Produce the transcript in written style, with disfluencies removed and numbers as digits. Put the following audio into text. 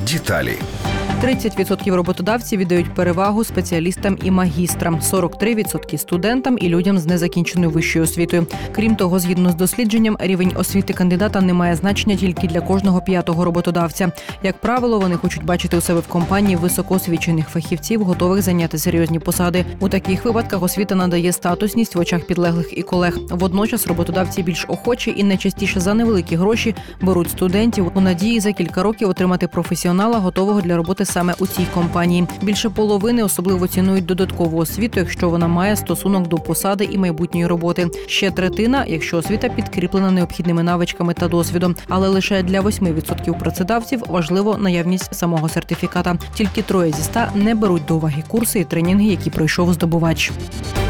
Деталі. 30% роботодавців віддають перевагу спеціалістам і магістрам, 43% – студентам і людям з незакінченою вищою освітою. Крім того, згідно з дослідженням, рівень освіти кандидата не має значення тільки для кожного п'ятого роботодавця. Як правило, вони хочуть бачити у себе в компанії високоосвічених фахівців, готових зайняти серйозні посади. У таких випадках освіта надає статусність в очах підлеглих і колег. Водночас роботодавці більш охочі і найчастіше за невеликі гроші беруть студентів у надії за кілька років отримати професіонала, готового для роботи саме у цій компанії. Більше половини особливо цінують додаткову освіту, якщо вона має стосунок до посади і майбутньої роботи. Ще третина, якщо освіта підкріплена необхідними навичками та досвідом. Але лише для 8% працедавців важливо наявність самого сертифіката. Тільки 3 зі 100 не беруть до уваги курси і тренінги, які пройшов здобувач.